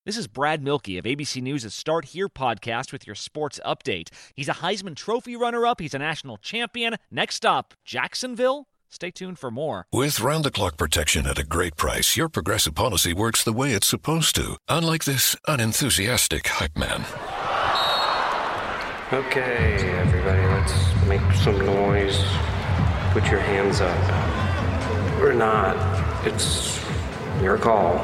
This is Brad Milkey of ABC News' Start Here podcast with your sports update. He's a Heisman Trophy runner-up. He's a national champion. Next up, Jacksonville. Stay tuned for more. With round-the-clock protection at a great price, your Progressive policy works the way it's supposed to. Unlike this unenthusiastic hype man. Okay, everybody, let's make some noise. Put your hands up. Or not. It's your call.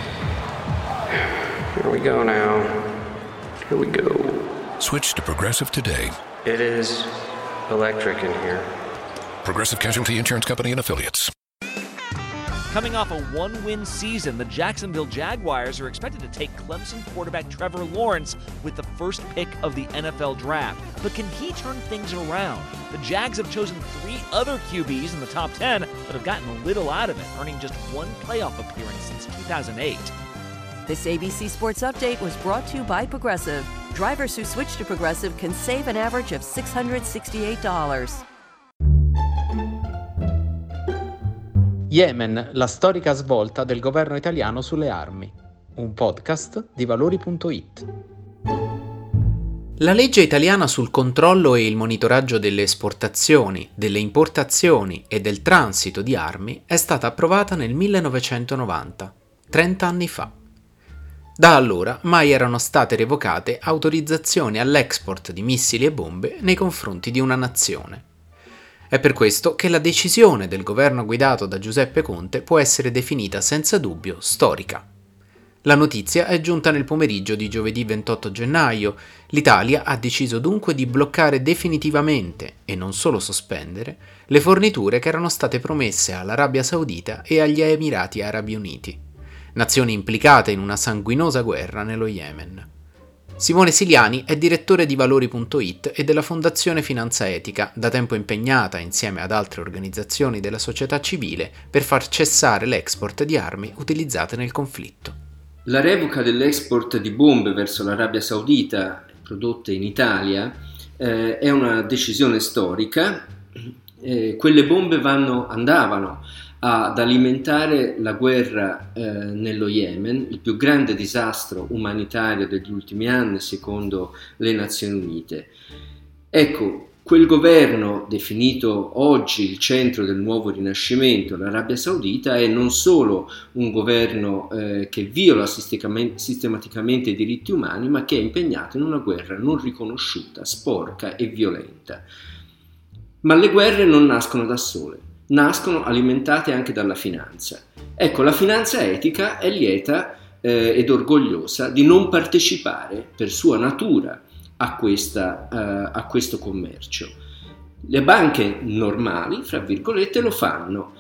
Here we go now. Here we go. Switch to Progressive today. It is electric in here. Progressive Casualty Insurance Company and Affiliates. Coming off a one-win season, the Jacksonville Jaguars are expected to take Clemson quarterback Trevor Lawrence with the first pick of the NFL draft. But can he turn things around? The Jags have chosen 3 other QBs in the top 10, but have gotten little out of it, earning just 1 playoff appearance since 2008. This ABC Sports Update was brought to you by Progressive. Drivers who switch to Progressive can save an average of $668. Yemen, la storica svolta del governo italiano sulle armi. Un podcast di Valori.it. La legge italiana sul controllo e il monitoraggio delle esportazioni, delle importazioni e del transito di armi è stata approvata nel 1990, 30 anni fa. Da allora mai erano state revocate autorizzazioni all'export di missili e bombe nei confronti di una nazione. È per questo che la decisione del governo guidato da Giuseppe Conte può essere definita senza dubbio storica. La notizia è giunta nel pomeriggio di giovedì 28 gennaio. L'Italia ha deciso dunque di bloccare definitivamente, e non solo sospendere, le forniture che erano state promesse all'Arabia Saudita e agli Emirati Arabi Uniti, nazioni implicate in una sanguinosa guerra nello Yemen. Simone Siliani è direttore di Valori.it e della Fondazione Finanza Etica, da tempo impegnata, insieme ad altre organizzazioni della società civile, per far cessare l'export di armi utilizzate nel conflitto. La revoca dell'export di bombe verso l'Arabia Saudita prodotte in Italia è una decisione storica. Quelle bombe andavano ad alimentare la guerra nello Yemen, il più grande disastro umanitario degli ultimi anni secondo le Nazioni Unite. Ecco, quel governo definito oggi il centro del nuovo rinascimento, l'Arabia Saudita, è non solo un governo che viola sistematicamente i diritti umani, ma che è impegnato in una guerra non riconosciuta, sporca e violenta. Ma le guerre non nascono da sole. Nascono alimentate anche dalla finanza. Ecco, la finanza etica è lieta ed orgogliosa di non partecipare per sua natura a questo commercio. Le banche normali, fra virgolette, lo fanno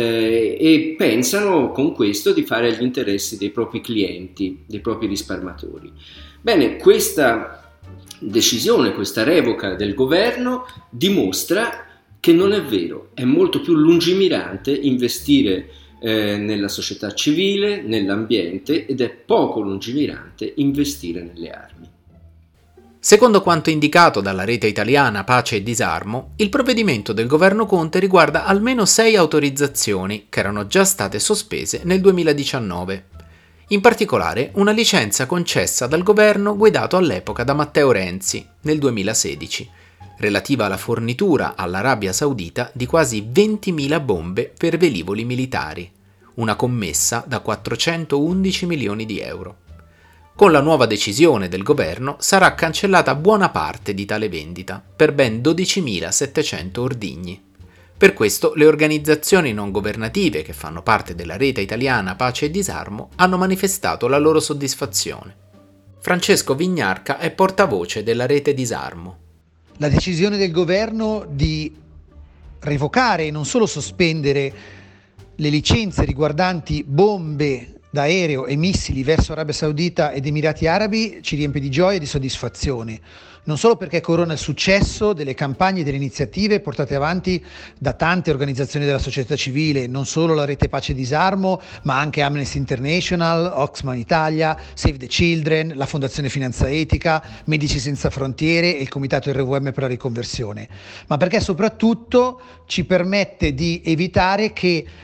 e pensano con questo di fare agli interessi dei propri clienti, dei propri risparmiatori. Bene, questa decisione, questa revoca del governo dimostra che non è vero, è molto più lungimirante investire nella società civile, nell'ambiente, ed è poco lungimirante investire nelle armi. Secondo quanto indicato dalla rete italiana Pace e Disarmo, il provvedimento del governo Conte riguarda almeno 6 autorizzazioni che erano già state sospese nel 2019. In particolare una licenza concessa dal governo guidato all'epoca da Matteo Renzi nel 2016, relativa alla fornitura all'Arabia Saudita di quasi 20.000 bombe per velivoli militari, una commessa da 411 milioni di euro. Con la nuova decisione del governo sarà cancellata buona parte di tale vendita, per ben 12.700 ordigni. Per questo le organizzazioni non governative che fanno parte della rete italiana Pace e Disarmo hanno manifestato la loro soddisfazione. Francesco Vignarca è portavoce della rete Disarmo. La decisione del governo di revocare e non solo sospendere le licenze riguardanti bombe d'aereo e missili verso Arabia Saudita ed Emirati Arabi ci riempie di gioia e di soddisfazione, non solo perché corona il successo delle campagne e delle iniziative portate avanti da tante organizzazioni della società civile, non solo la Rete Pace e Disarmo, ma anche Amnesty International, Oxfam Italia, Save the Children, la Fondazione Finanza Etica, Medici Senza Frontiere e il Comitato RVM per la riconversione, ma perché soprattutto ci permette di evitare che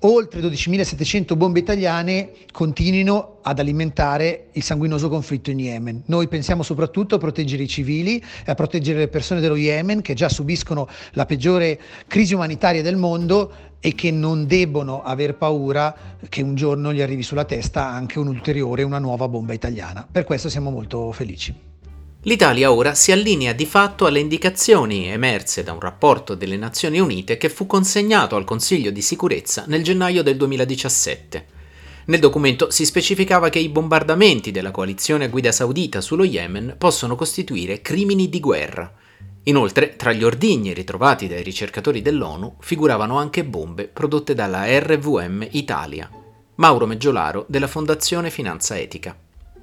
oltre 12.700 bombe italiane continuino ad alimentare il sanguinoso conflitto in Yemen. Noi pensiamo soprattutto a proteggere i civili e a proteggere le persone dello Yemen, che già subiscono la peggiore crisi umanitaria del mondo e che non debbono aver paura che un giorno gli arrivi sulla testa anche una nuova bomba italiana. Per questo siamo molto felici. L'Italia ora si allinea di fatto alle indicazioni emerse da un rapporto delle Nazioni Unite che fu consegnato al Consiglio di Sicurezza nel gennaio del 2017. Nel documento si specificava che i bombardamenti della coalizione a guida saudita sullo Yemen possono costituire crimini di guerra. Inoltre, tra gli ordigni ritrovati dai ricercatori dell'ONU figuravano anche bombe prodotte dalla RVM Italia. Mauro Meggiolaro della Fondazione Finanza Etica.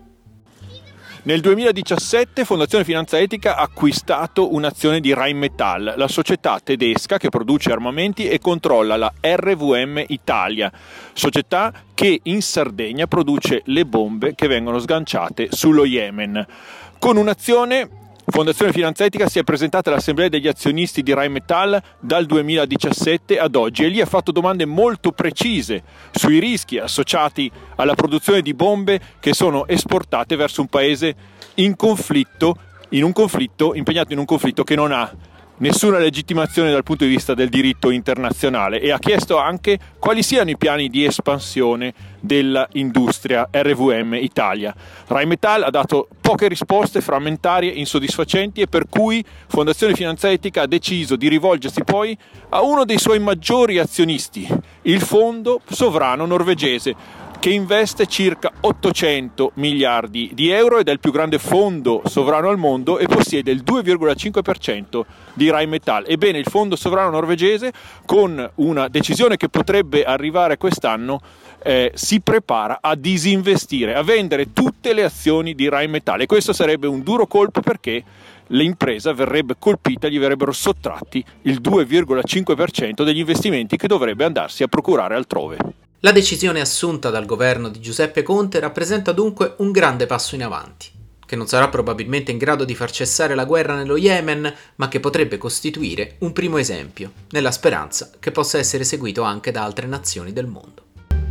Nel 2017 Fondazione Finanza Etica ha acquistato un'azione di Rheinmetall, la società tedesca che produce armamenti e controlla la RVM Italia, società che in Sardegna produce le bombe che vengono sganciate sullo Yemen. Con un'azione Fondazione Finanza Etica si è presentata all'Assemblea degli azionisti di Rheinmetall dal 2017 ad oggi e lì ha fatto domande molto precise sui rischi associati alla produzione di bombe che sono esportate verso un paese impegnato in un conflitto che non ha nessuna legittimazione dal punto di vista del diritto internazionale, e ha chiesto anche quali siano i piani di espansione dell'industria RVM Italia. Rheinmetall ha dato poche risposte frammentarie, insoddisfacenti, e per cui Fondazione Finanza Etica ha deciso di rivolgersi poi a uno dei suoi maggiori azionisti, il Fondo Sovrano Norvegese, che investe circa 800 miliardi di euro ed è il più grande fondo sovrano al mondo e possiede il 2,5% di Rheinmetall. Ebbene, il fondo sovrano norvegese, con una decisione che potrebbe arrivare quest'anno, si prepara a disinvestire, a vendere tutte le azioni di Rheinmetall, e questo sarebbe un duro colpo perché l'impresa verrebbe colpita, gli verrebbero sottratti il 2,5% degli investimenti che dovrebbe andarsi a procurare altrove. La decisione assunta dal governo di Giuseppe Conte rappresenta dunque un grande passo in avanti, che non sarà probabilmente in grado di far cessare la guerra nello Yemen, ma che potrebbe costituire un primo esempio, nella speranza che possa essere seguito anche da altre nazioni del mondo.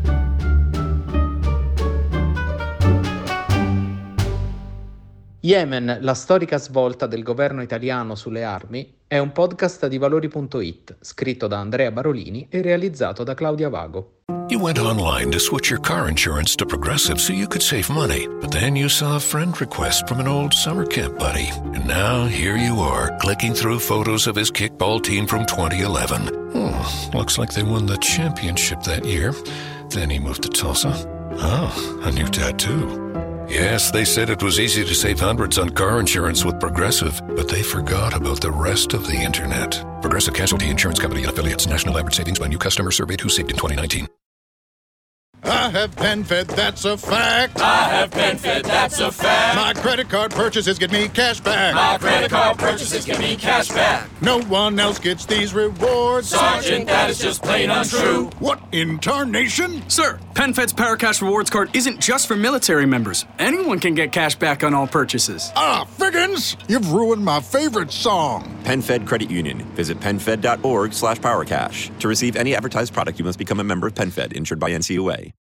Yemen, la storica svolta del governo italiano sulle armi, è un podcast di Valori.it, scritto da Andrea Barolini e realizzato da Claudia Vago. You went online to switch your car insurance to Progressive so you could save money, but then you saw a friend request from an old summer camp buddy. And now here you are, clicking through photos of his kickball team from 2011. Looks like they won the championship that year. Then he moved to Tulsa. Oh, a new tattoo. Yes, they said it was easy to save hundreds on car insurance with Progressive, but they forgot about the rest of the internet. Progressive Casualty Insurance Company and Affiliates. National average savings by new customer surveyed who saved in 2019. I have PenFed, that's a fact. I have PenFed, that's a fact. My credit card purchases get me cash back. My credit card purchases get me cash back. No one else gets these rewards. Sergeant, that is just plain untrue. What in tarnation? Sir, PenFed's Paracash Rewards card isn't just for military members. Anyone can get cash back on all purchases. Ah, Figgins! You've ruined my favorite song. PenFed Credit Union. Visit PenFed.org/PowerCash. To receive any advertised product, you must become a member of PenFed, insured by NCUA.